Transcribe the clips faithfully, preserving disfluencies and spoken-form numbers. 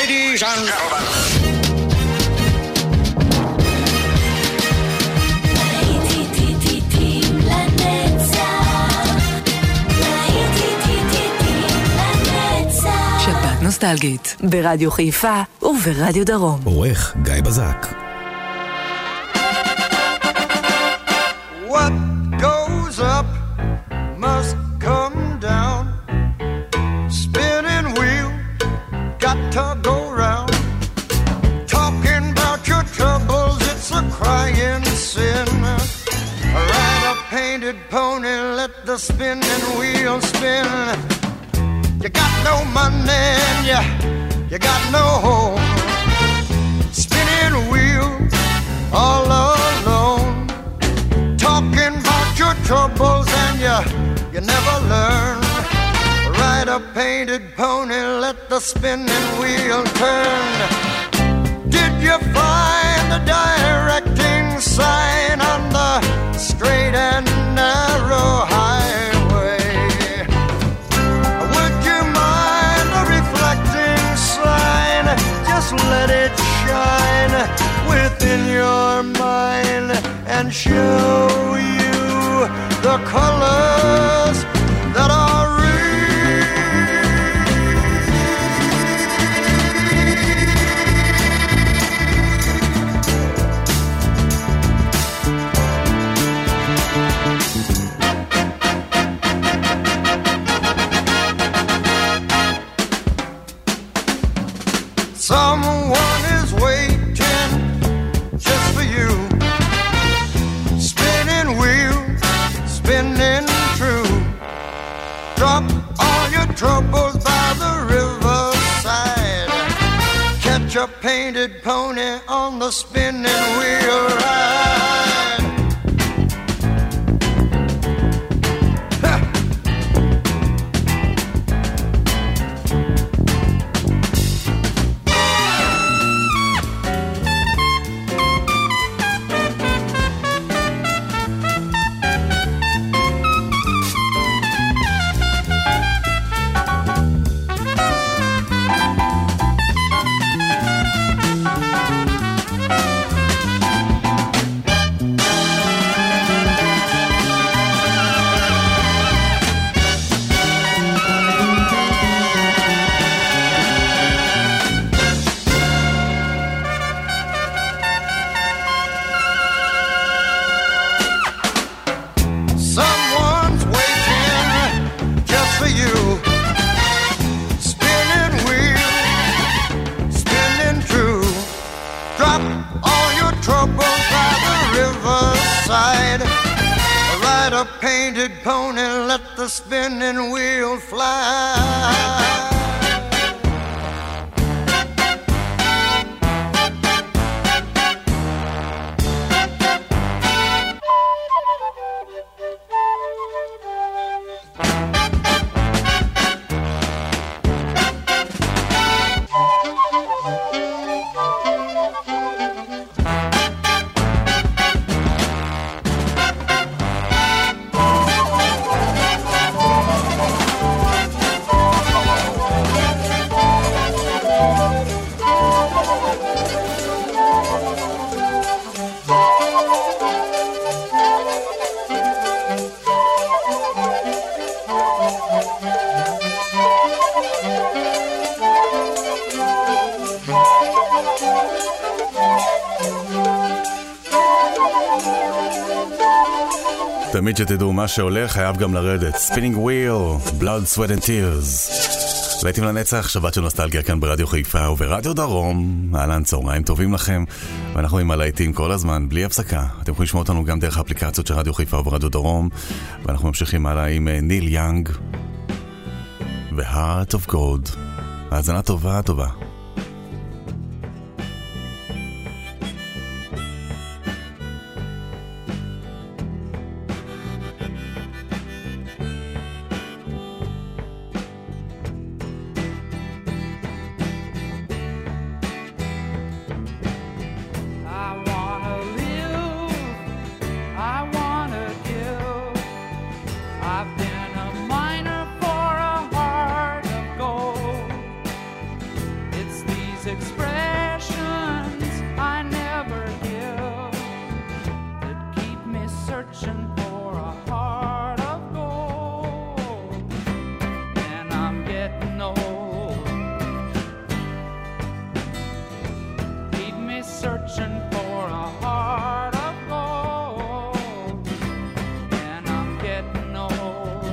ladies and gentlemen. שבת נוסטלגית ברדיו חיפה וברדיו דרום. עורך גיא בזק. What goes up must come down. Spinning wheel got to go round. Talking about your troubles, it's a crying sin. Ride a painted pony, let the spinning wheel spin. You got no money and you, you got no home. Spinning wheel all alone. Talking about your troubles and you, you never learn. Ride a painted pony, let the spinning wheel turn. Did you find the directing sign on the straight and narrow highway? Would you mind a reflecting sign? Just let it shine within your mind and show you the colors that are real. Someone is waiting just for you. Spinning wheel, spinning true. Drop all your troubles by the riverside. Catch a painted pony on the spinning wheel ride. Ha! Painted pony, let the spinning wheel fly. תמיד שתדעו מה שהולך חייב גם לרדת. Spinning Wheel, Blood, Sweat and Tears. להיטים לנצח, שבת של נוסטלגיה כאן ברדיו חיפה וברדיו דרום. אהלן, צהריים טובים לכם. ואנחנו עם הלהיטים כל הזמן, בלי הפסקה. אתם יכולים לשמוע אותנו גם דרך האפליקציות של רדיו חיפה וברדיו דרום. ואנחנו ממשיכים הלאה עם ניל יאנג ו-Heart of Gold. האזנה טובה, טובה. It's these expressions I never give that keep me searching for a heart of gold. And I'm getting old. Keep me searching for a heart of gold. And I'm getting old.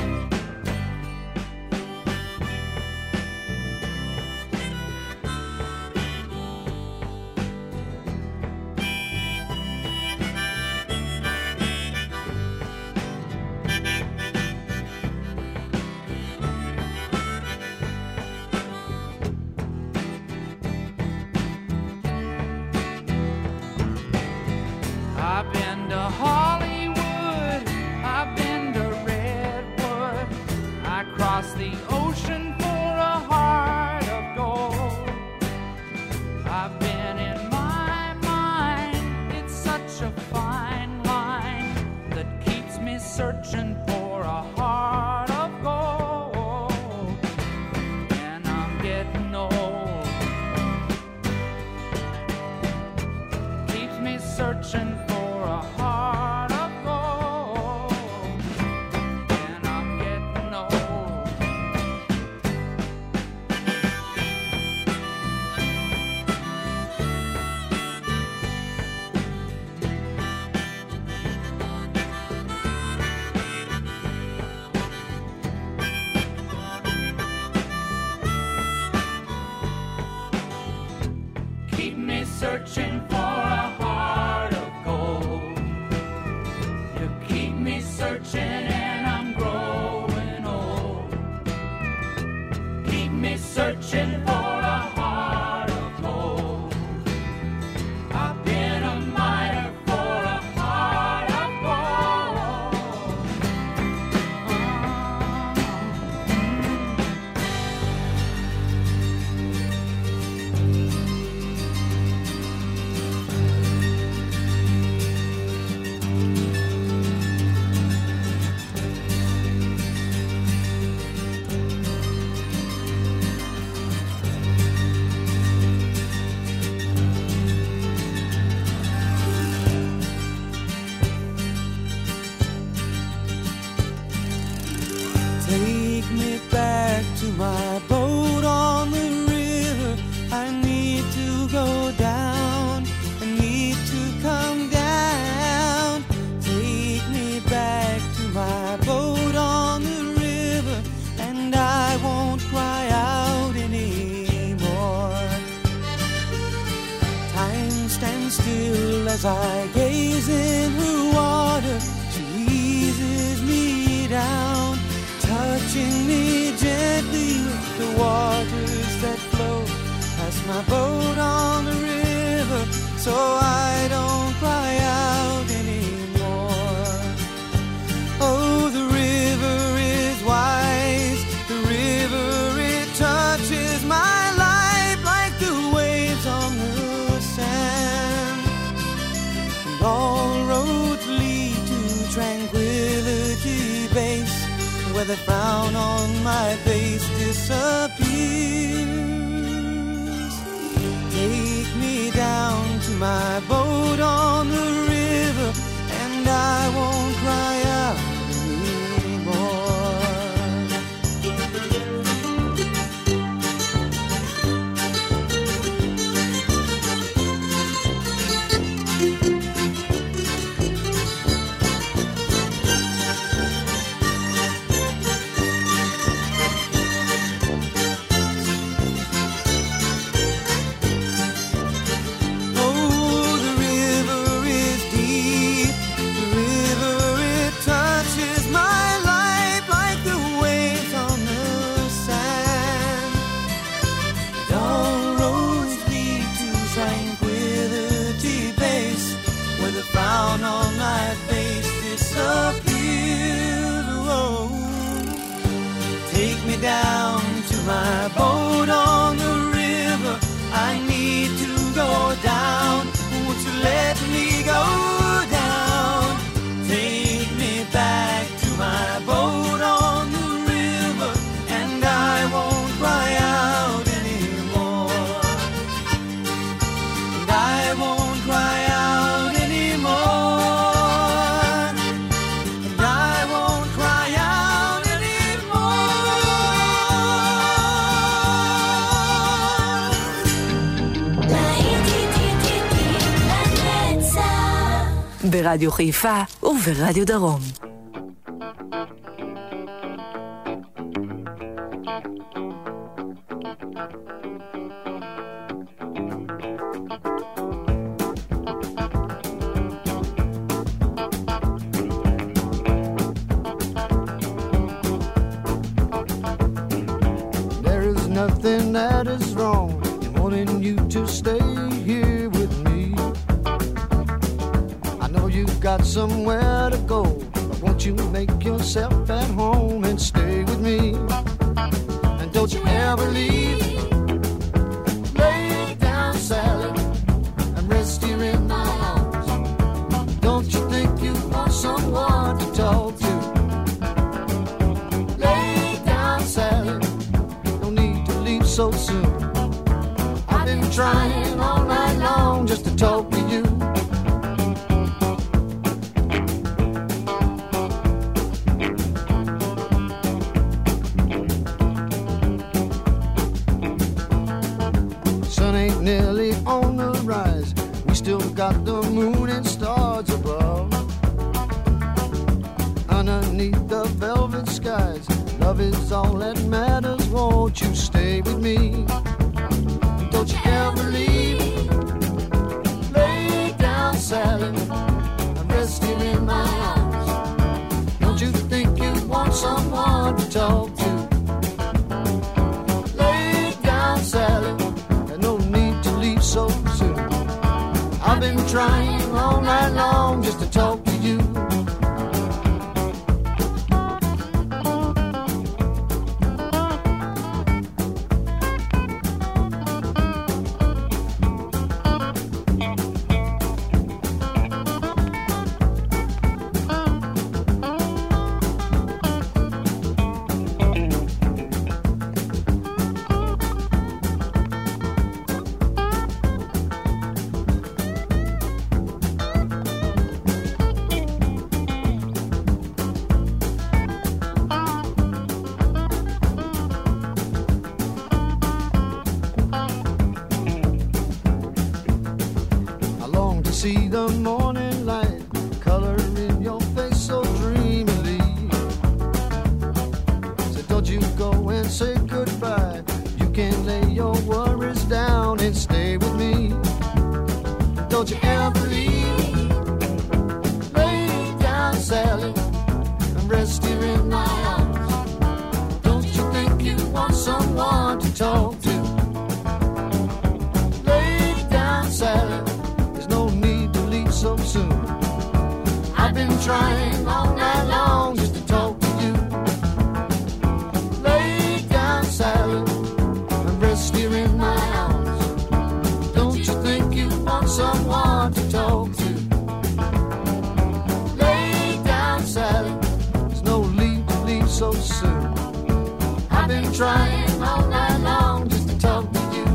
I've been to Hollywood, I've been to Redwood, I crossed the ocean for a heart of gold. I've been in my mind, it's such a fine line that keeps me searching for a heart of gold. And I'm getting old. Keeps me searching for a heart of gold. And I'm getting old. Keep me searching for a heart of gold. You keep me searching and I'm growing old. Keep me searching for a heart of gold. I've been a miner for a heart of gold. Take me back to my boat on the river. I need to go down. I need to come down. Take me back to my boat on the river, and I won't cry out anymore. Time stands still as I gaze in her water. She eases me down, touching me gently with the waters that flow past my boat on the river, so I don't cry out anymore. Oh, the river is wise, the river, it touches my life like the waves on the sand. And all roads lead to Tranquility Base, where the frown on my face disappears. Take me down to my boat on the river, and I won't cry out anymore. ברדיו חיפה וברדיו דרום. Nothing that is wrong in wanting you to stay here with me. I know you've got somewhere to go, but won't you make yourself at home and stay with me? And don't you ever leave. Lay down, Sally, and rest here in my arms. Don't you think you want someone to talk to? Lay down, Sally, so soon. I've been trying all night long just to talk to you. Sun ain't nearly on the rise. We still got the moon and stars above. Underneath the velvet skies, love is all that matters. Won't you stay with me? Don't you ever leave. Lay down, Sally, and rest here in my arms. Don't you think you want someone to talk to? Lay down, Sally, there's no need to leave so soon. I've been trying all night long just to talk to you. See the morning light color in your face so dreamily. So don't you go and say goodbye. You can lay your worries down and stay with me. Don't you ever leave. Lay down, Sally, and rest here in my arms. Don't you think you want someone to talk to? Lay down, Sally, so soon. I've been trying all night long just to talk to you. Lay down, Sally, and rest here in my arms. Don't you think you want someone to talk to? Lay down, Sally, there's no need to leave so soon. I've been trying all night long just to talk to you.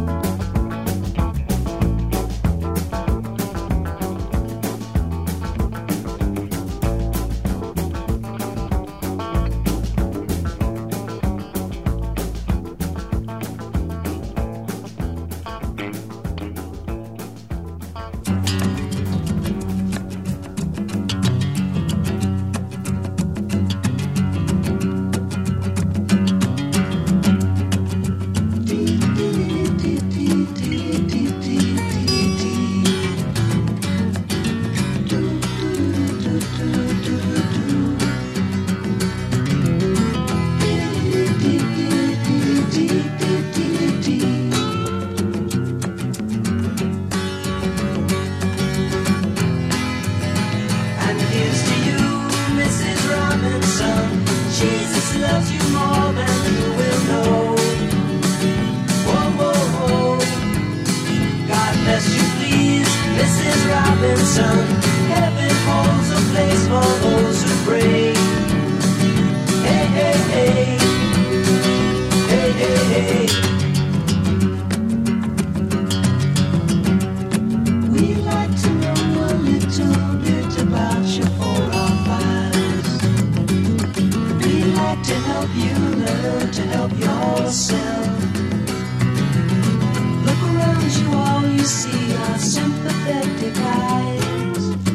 see our sympathetic eyes.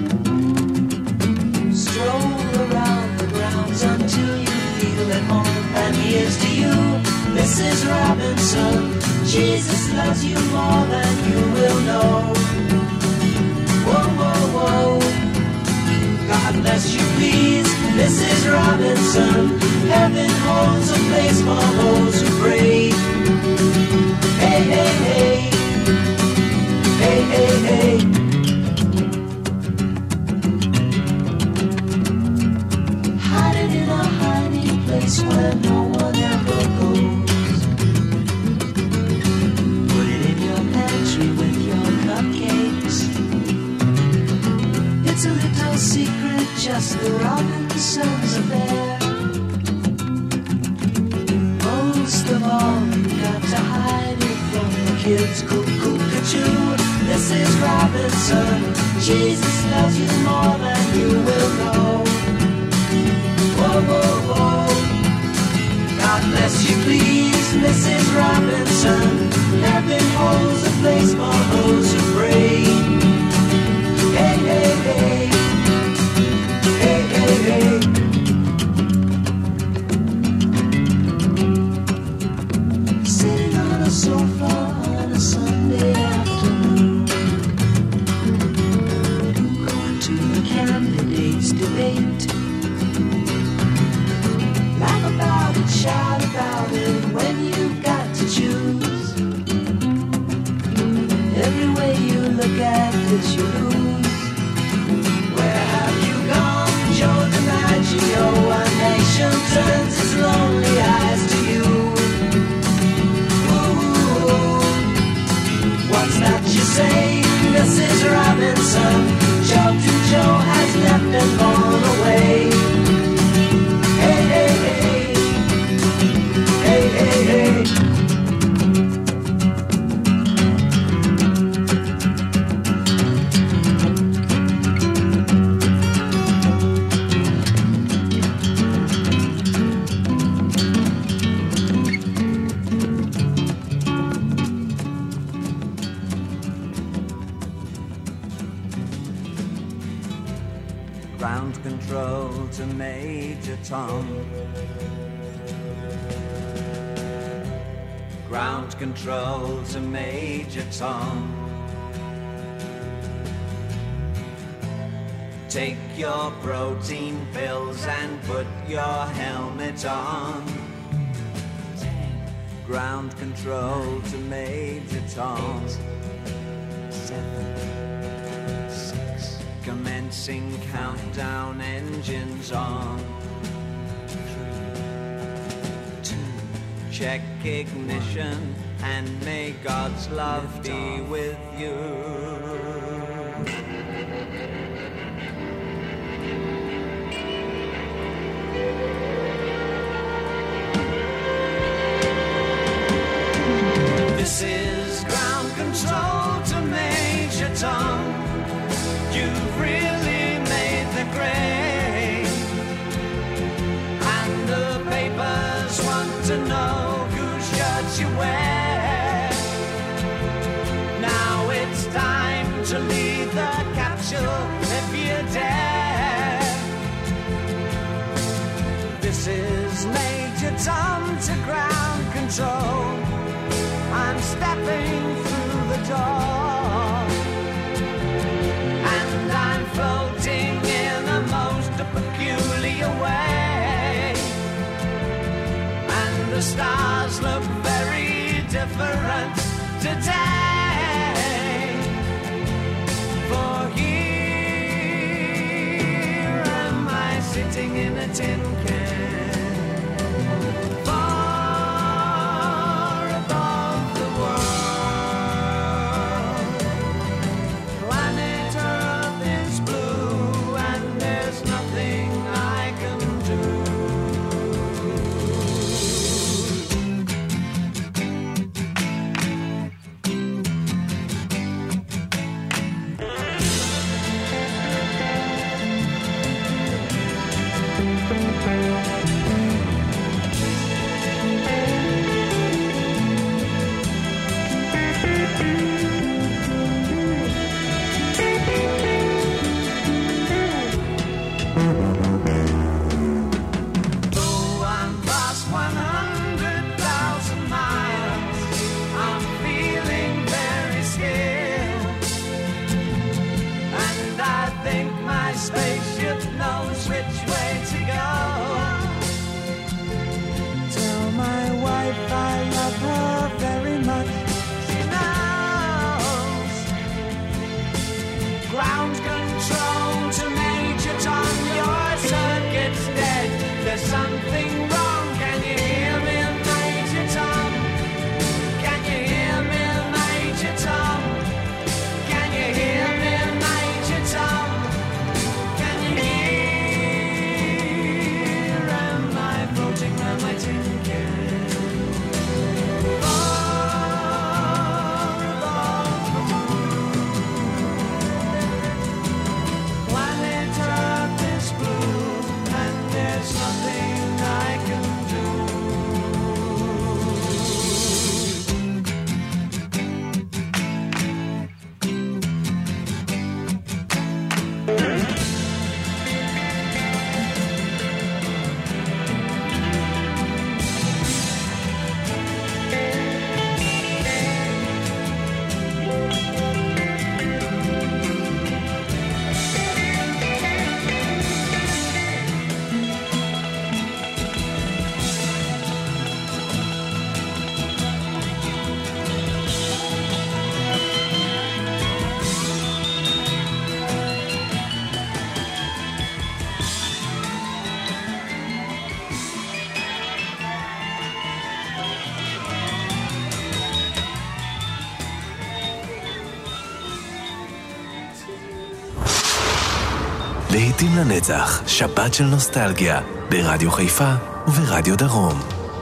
Jesus loves you more than you will know. Whoa, whoa, whoa. God bless you, please, Missus Robinson. Heaven holds a place for those who pray. Hey, hey, hey. Hey, hey, hey. Hiding in a hiding place where no one ever goes. Put it in your pantry with your cupcakes. It's a little secret, just the Robinsons affair. Most of all, you got to hide it from the kids. Cuckoo-ca-choo, Missus Robinson. Jesus loves you more than you will know. Whoa, whoa, whoa. God bless you, please, Missus Robinson. Heaven holds a place for those who pray. Hey, hey, hey. Hey, hey, hey. Sitting on a sofa on a Sunday afternoon, going to the candidates' debate. Laugh about it, shout about it when you've got to choose. Every way you look at it, you lose. Where have you gone, Joe DiMaggio? A nation turns its lonely eyes to you. Ooh, what's that you say, Missus Robinson? Joe Joe has left and gone away. Hey, hey, hey. Hey, hey, hey. Ground control to Major Tom. Ground control to Major Tom. Take your protein pills and put your helmet on. Ground control to Major Tom. Seven. Commencing countdown, engines on. Three, two, check ignition, and may God's love be with you. This is ground control to Major Tom. You've really made the grade, and the papers want to know whose shirts you wear. Now it's time to leave the capsule if you dare. This is Major Tom to ground control. I'm stepping through the door, and I'm floating in a most peculiar way, and the stars look very different today. For here am I sitting in a tin can, far above the world. Planet Earth is blue, and there's nothing I can do. להיטים לנצח, שבת של נוסטלגיה, ברדיו חיפה וברדיו דרום.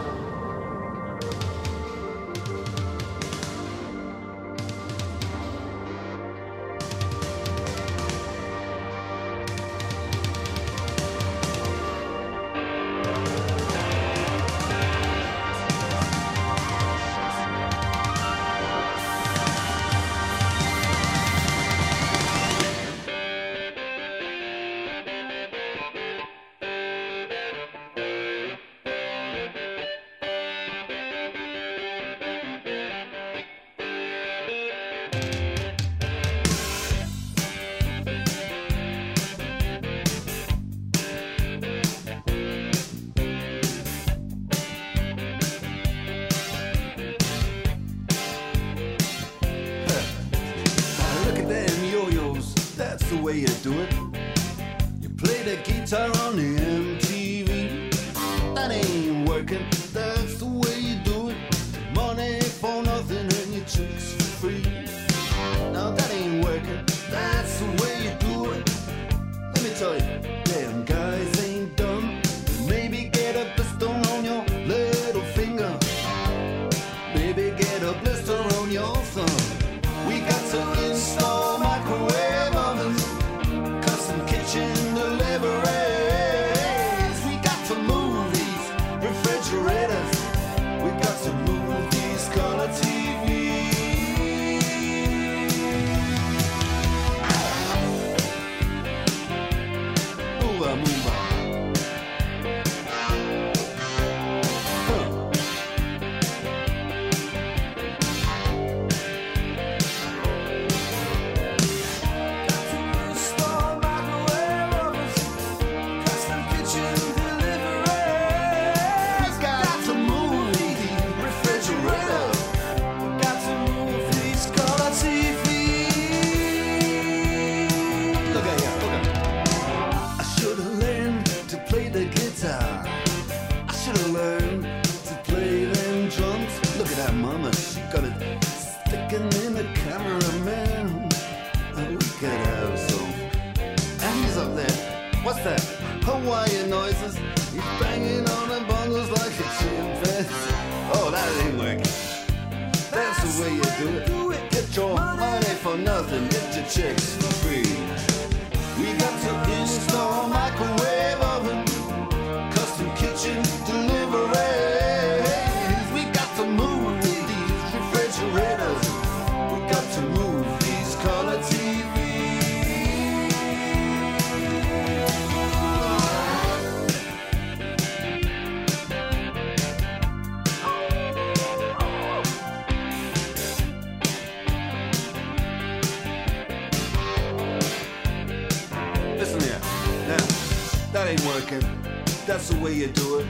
That's the way you do it.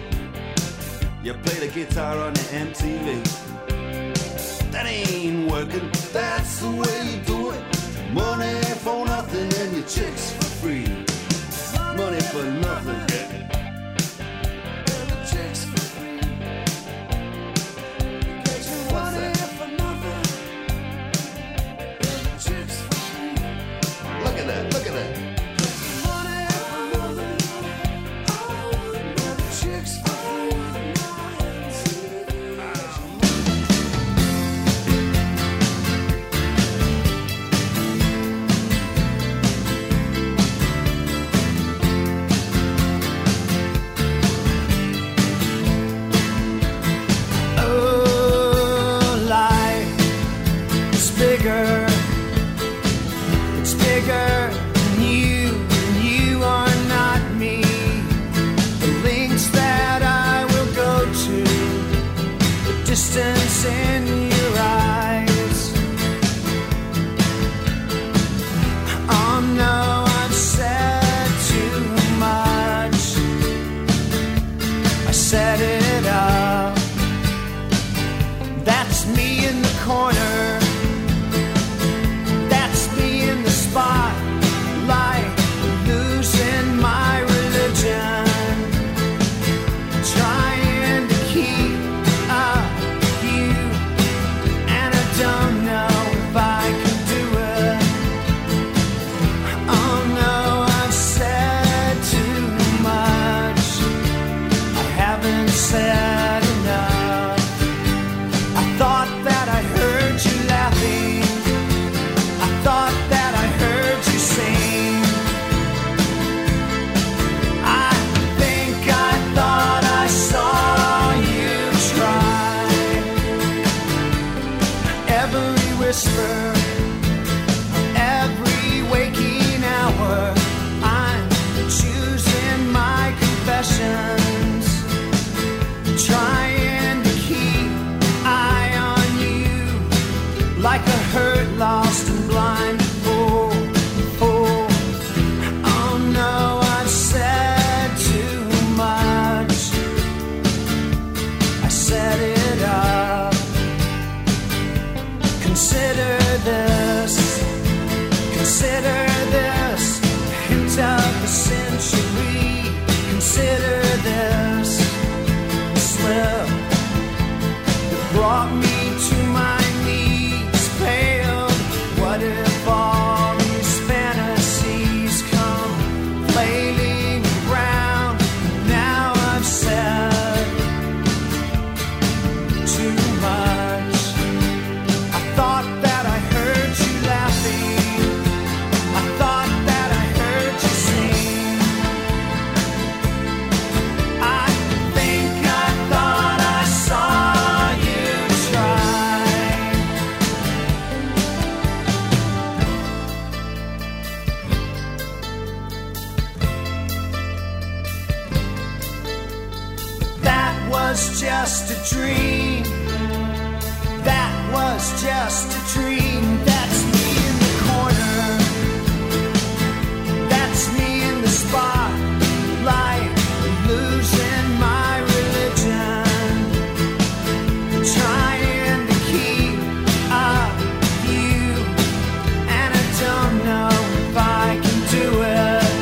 You play the guitar on the M T V. That ain't working. That's the way you do it. Money for nothing and your chicks for free. Money for nothing. And your chicks for free. What's that? For nothing. And your chicks for free. Look at that. Look at that. Distance in your eyes. Oh no, I've said too much. I set it up. That's me in the corner. That's me in the spot. whisper every waking hour. I'm choosing my confessions, trying to keep eye on you like a hurt, lost and blind fool. Oh, oh no, I've said too much. I set it up. Consider this, consider this, a hint of the century. Consider this, a slip that brought me to my knees, paled. What if all these fantasies come flailing around? Now I've said too much. I thought that I heard you laughing. I thought that I heard you sing. I think I thought I saw you try. That was just a dream. That was just a dream. That's me in the corner. That's me in the spotlight, losing my religion, trying to keep up with you, and I don't know if I can do it.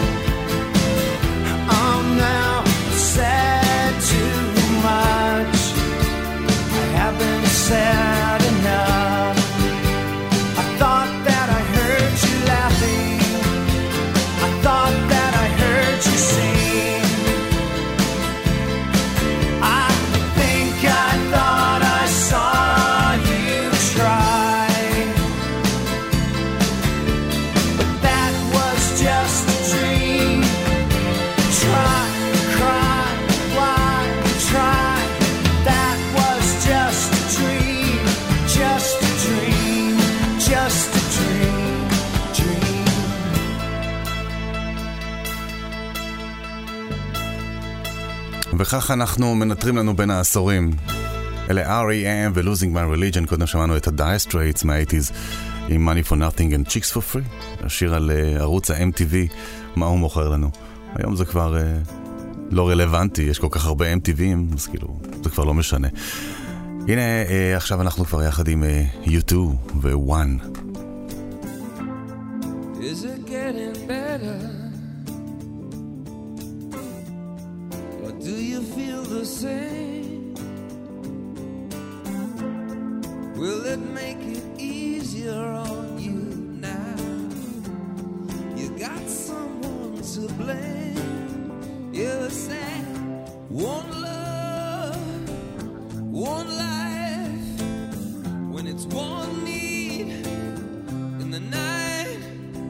Oh no, I've said too much. I haven't said enough. I thought that I heard you laughing. I thought that I heard you sing. I think I thought I saw you try. But that was just a dream. Try, cry, why, try. That was just a dream. Just a dream. Just a dream. Dream. וכך אנחנו מנטרים לנו בין העשורים. אלה אר אי אם ו-Losing My Religion. קודם שמענו את ה-Dire Straits מה-שמונים עם Money for Nothing and Chicks for Free. השיר על uh, ערוץ ה-אם טי וי, מה הוא מוכר לנו. היום זה כבר uh, לא רלוונטי, יש כל כך הרבה אם טי וי'ים, אז כאילו, זה כבר לא משנה. הנה, uh, עכשיו אנחנו כבר יחד עם uh, יו טו ו-One. Is it getting better? Or do you feel the same? Will it make it easier on you now? You got someone to blame. You said one love, one life. When it's one need in the night,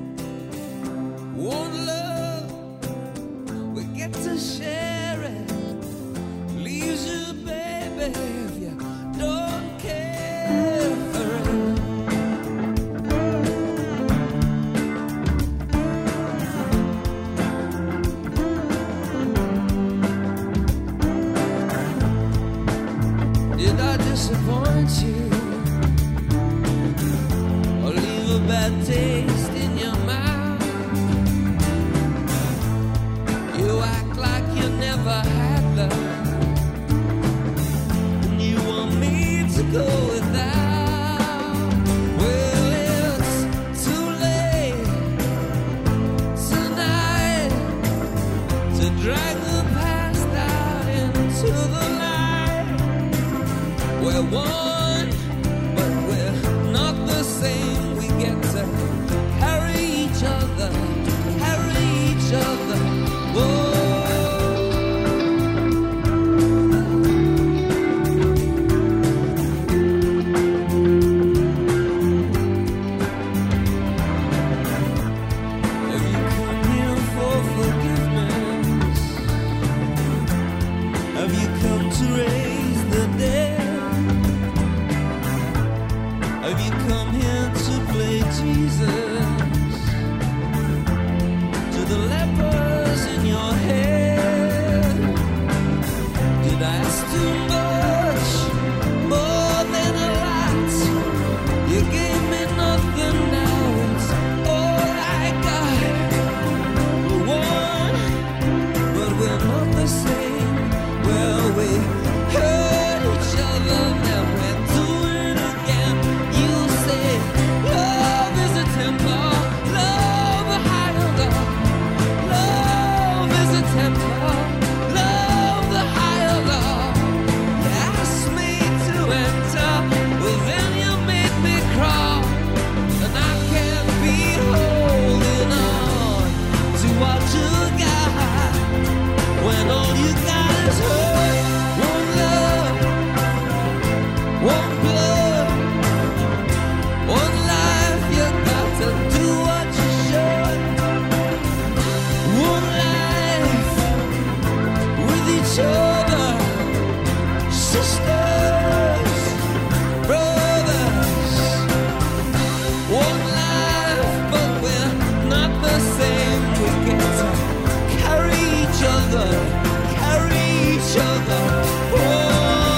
one love, we get to share it. Leaves you, baby, if you don't care for it. Did I disappoint you or leave a bad taste in your mouth? You act like you never had love, and you want me to go without. Well, it's too late tonight to drag the past out into the night. We're one, but we're not the same. We get to One life, but we're not the same. We get to carry each other, carry each other. Oh.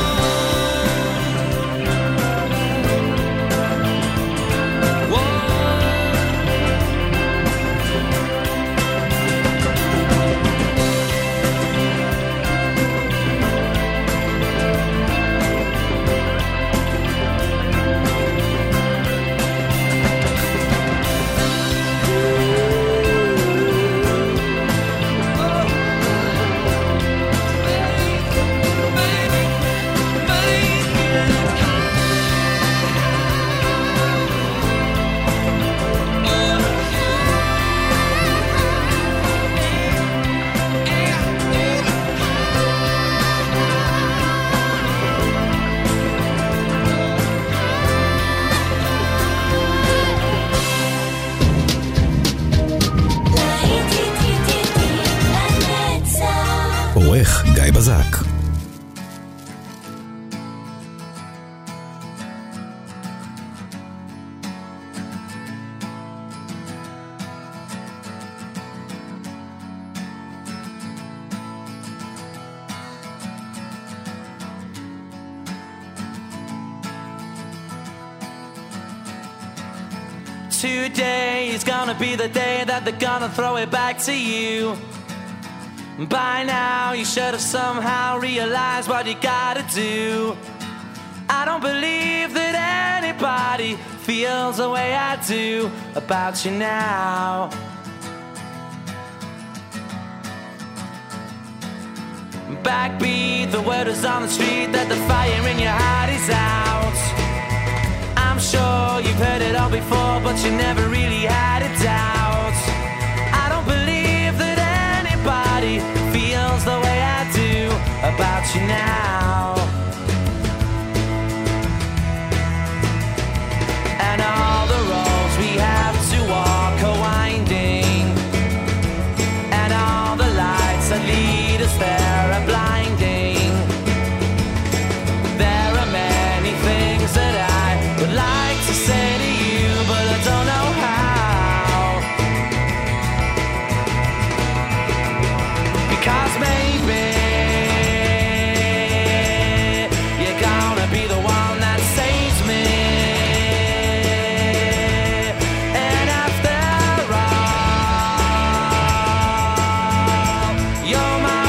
עורך גיא בזק. Today is gonna be the day that they're gonna throw it back to you. By now you should have somehow realized what you gotta do. I don't believe that anybody feels the way I do about you now. Backbeat, the word is on the street that the fire in your heart is out. I'm sure you've heard it all before, but you never really had a doubt. I don't believe that anybody feels the way I do about you now. And all the roads we have to walk are winding, and all the lights that lead us there are blinding. There are many things that I would like to say to you, but I don't know how. Because maybe you're gonna be the one that saves me. And after all, you're my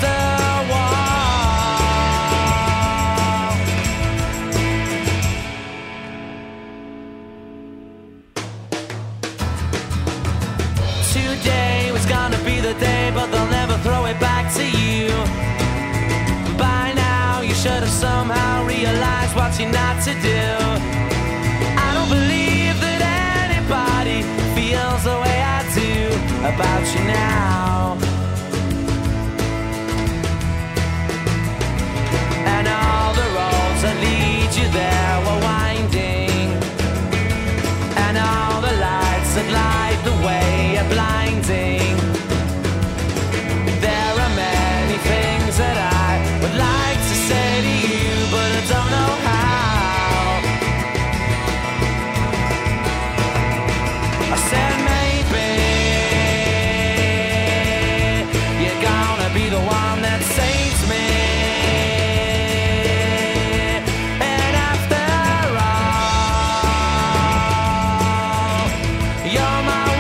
today was gonna be the day, but they'll never throw it back to you. By now you should have somehow realized what you're not to do. I don't believe that anybody feels the way I do about you now. And all the roads that lead you there were winding, and all the lights that light the way are blinding. There are many things that I would like to say to you, but I don't know how. I said maybe you're gonna be the one that saves me. And after all, you're my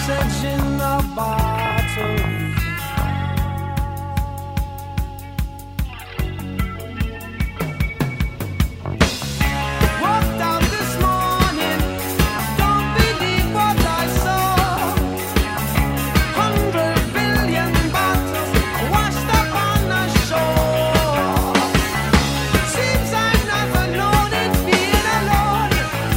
message in a bottle. Walked out this morning, don't believe what I saw. Hundred billion bottles washed up on the shore. Seems I never known it being alone.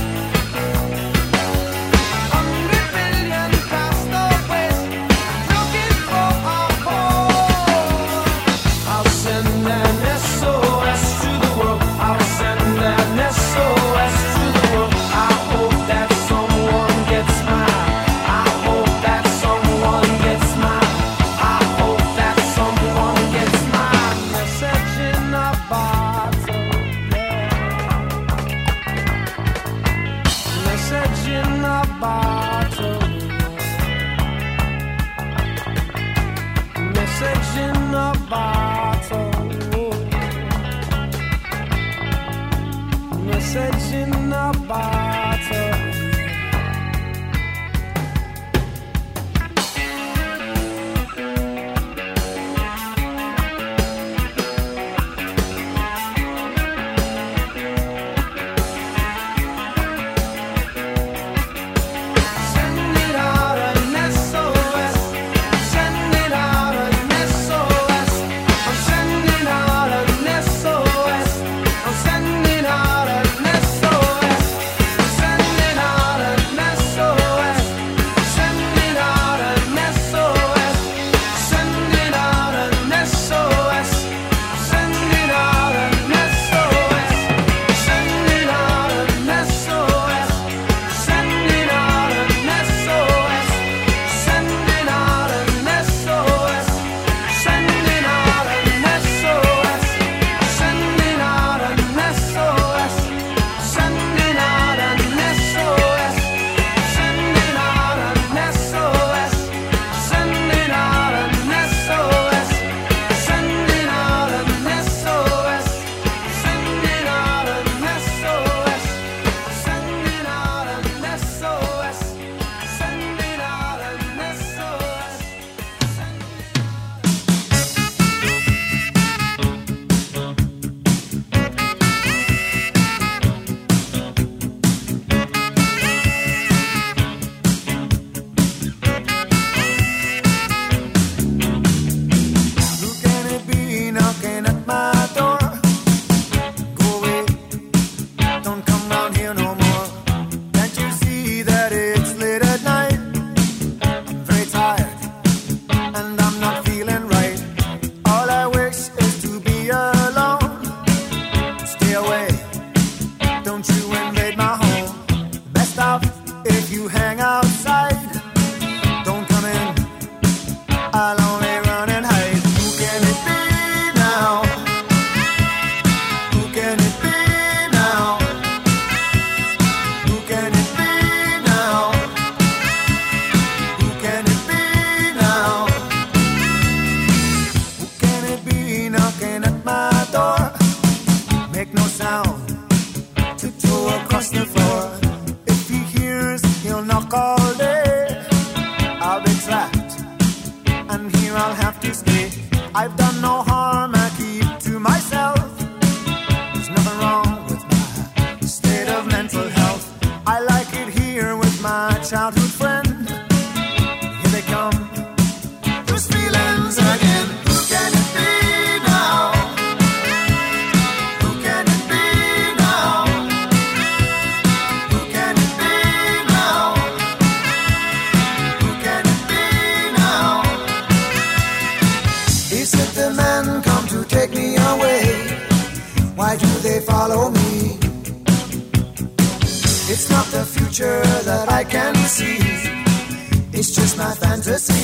Hundred billion castaways looking for a home. I'll send an S O S to the world. I'll send an S O S to the world. I hope that someone gets mine. I hope that someone gets mine. I hope that someone gets mine. Message in a bottle. Message in a bottle. Message in a bottle. Message in a bottle. Send it out an S O S. Send it out an S O S. I'm sending out an S O S. I'm sending out an S O S. I'm sending out an S O S. Sending out an S O S. Sending out an S O S. Sending out an S O S. Sending out an S O S. Sending out an S O S. Sending out an S O S. Sending out an S O S. Sending out an S O S. Sending out an S O S. Sending out an S O S. Sending out an S O S. Sending out an S O S. Sending out an S O S. Sending out an S O S. Sending out an S O S. Who can it be knocking at my door? Go away, don't come round here no more. Can't you see that it's late at night? I'm very tired and I'm not feeling right. All I wish is to be alone. Stay away, don't you invade my home. Best off if you hang outside. Don't come in, I'll only run and hide. Who can it be now? Who can it be now? Who can it be now? Who can it be now? Who can it be knocking at my door? Make no sound, tiptoe across the floor. If he hears, he'll knock all day. I'll be trapped, and here I'll have to stay. I've done no harm, I keep to myself. There's nothing wrong with my state of mental health. I like it here with my childhood friend. Here they come, those feelings again. Who can it be now? Who can it be now? Who can it be now? Who can it be now? Is it the men come to take me away? Why do they follow me? It's not the future that I can see. It's just my fantasy.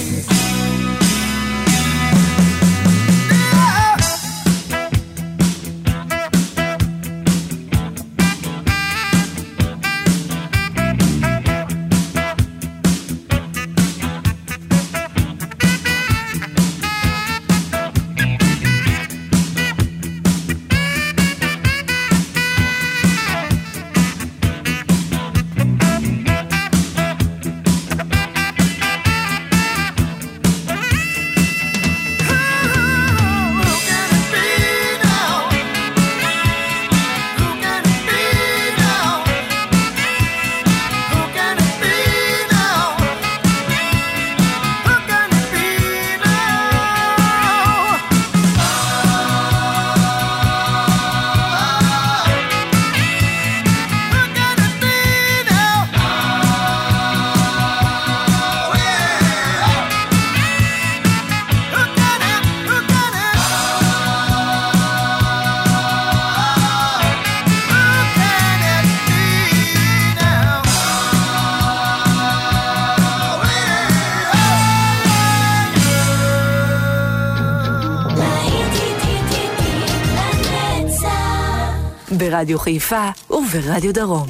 ברדיו חיפה וברדיו דרום.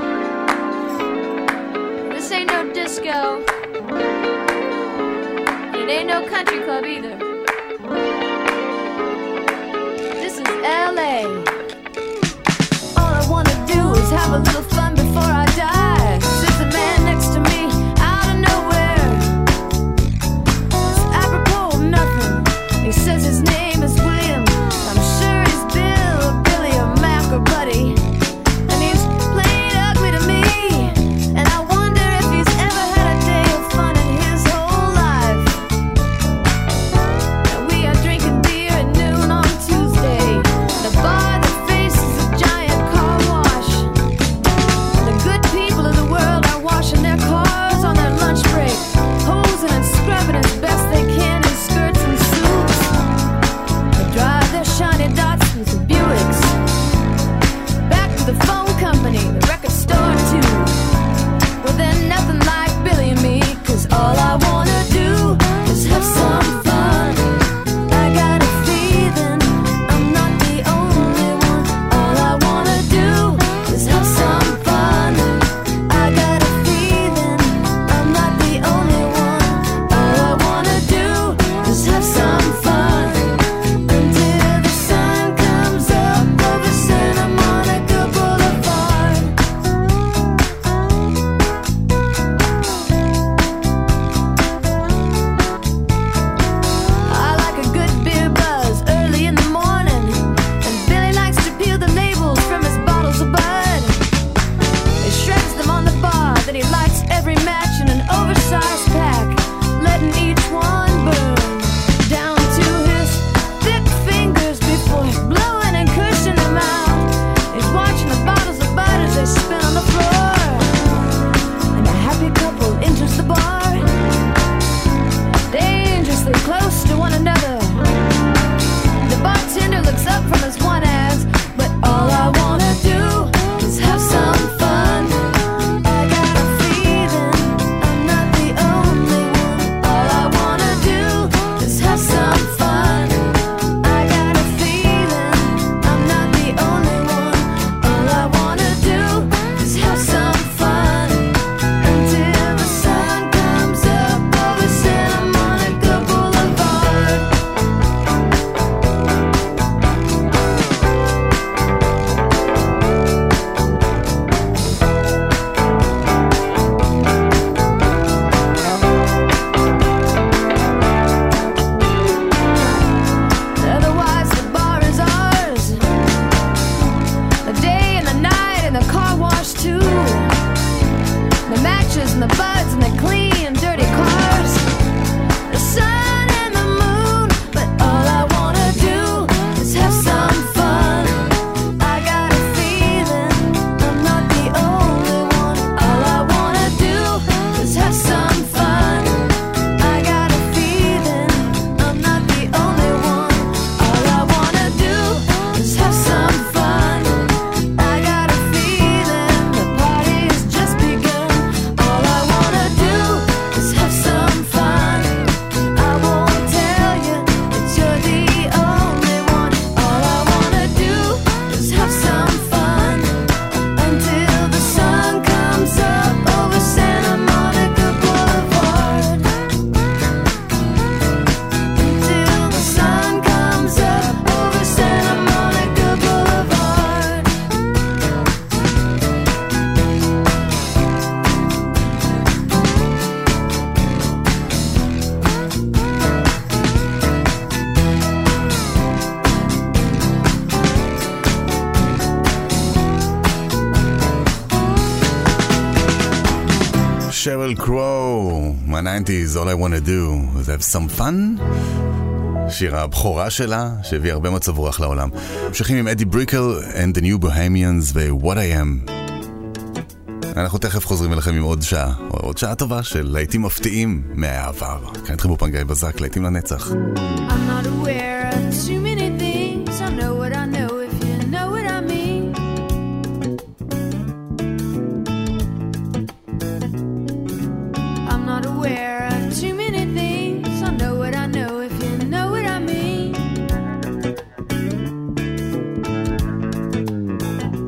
This ain't no disco. It ain't no country club either. This is L A. All I wanna do is have a little fun before I die. Says the man next to me out of nowhere. It's apropos of nothing. He says his name is William. I'm sure he's Bill or Billy or Mac or Buddy. And he's plain ugly to me. And I wonder if he's ever had a day of fun in his whole life. And we are drinking beer at noon on Tuesday. The bar that faces a giant car wash. The good people of the world are washing their cars on their lunch break, hosing and scrubbing as best they can in skirts and suits. They drive their shiny dots with the Buicks back to the phone company, the record store too. Well, they're nothing like Billy and me, 'cause all I wanna do is have some fun. I got a feeling I'm not the only one. All I wanna do is have some fun. I got a feeling I'm not the only one. All I wanna do is have some fun until the sun comes up over Santa Monica Boulevard. I like a good beer buzz early in the morning, and Billy likes to peel the labels from his bottles of Bud. He shreds them on the bar, then he lights every match in an oversized pack, letting each one burn down to his thick fingers before blowing and cushing them out. He's watching the bottles of Bud as they spin on the floor, and a happy couple enters the bar, dangerously close to one another. The bartender looks up from his one ass, but all I wanna do is have some fun. I got a feeling I'm not the only one. All I wanna do is have some fun. I got a feeling I'm not the only one. All I wanna do is have some fun until the sun comes up over Santa Monica Boulevard. Otherwise the bar is ours, the day and the night and the car wash too, the matches and the buds and the clean dirty cars, the sun and the moon. But all I wanna do is have some fun. I got a feeling I'm not the only one. All I wanna do is have some fun. I got a feeling I'm not the only one. All I wanna do is have some fun. I got a feeling the party has just begun. All I wanna do is have some fun. I won't tell you that you're the only one. All I wanna do is have some fun until the sun comes up over Santa Monica Boulevard. Until the sun comes up over Santa Monica Boulevard. Sheryl Crow, מה-nineties, All I want to do is have some fun. שיר הבכורה שלה, שהביא הרבה מצב רוח לעולם. ממשיכים עם אדי בריקל and the New Bohemians ו-What I Am. אנחנו תכף חוזרים אליכם עם עוד שעה, או עוד שעה טובה של להיטים מפתיעים מהעבר. כאן איתכם באולפן גיא בזק, להיטים לנצח. I'm not aware of too many things. I know what I know if you know what I mean. I'm not aware of too many things. I know what I know if you know what I mean.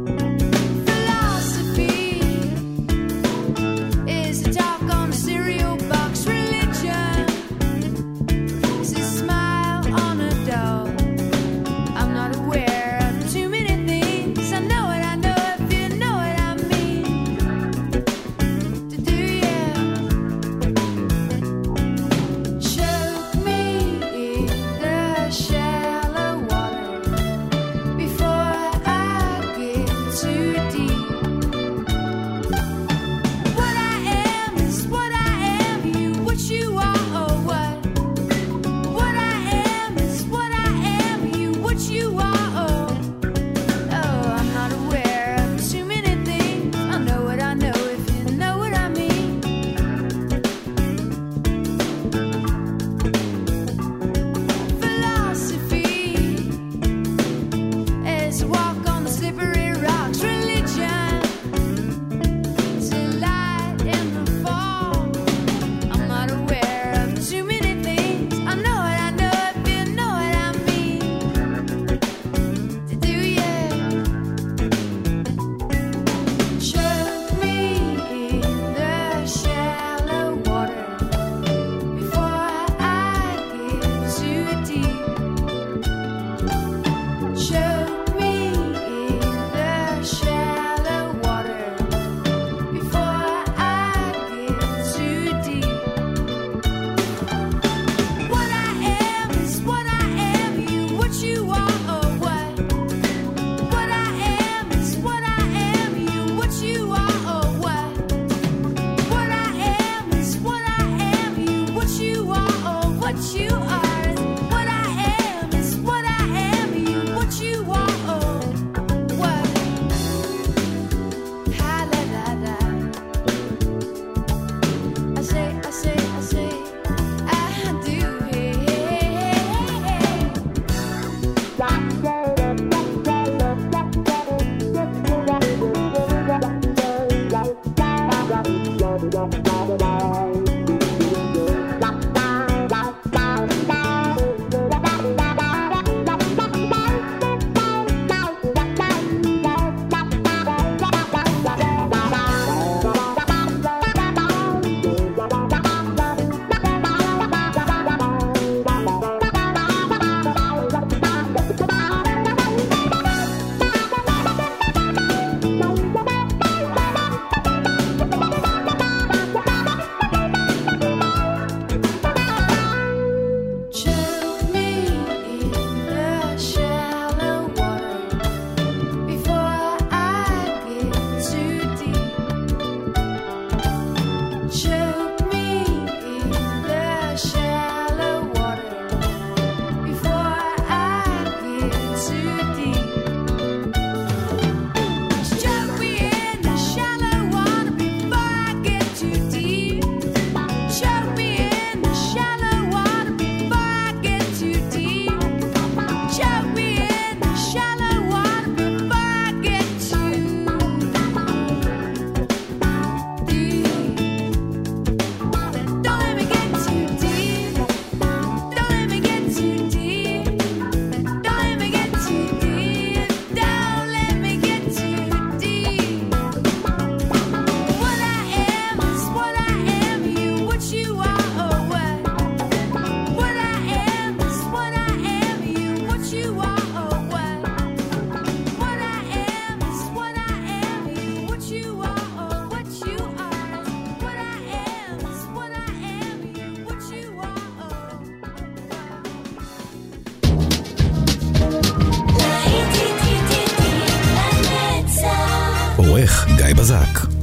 עורך גיא בזק.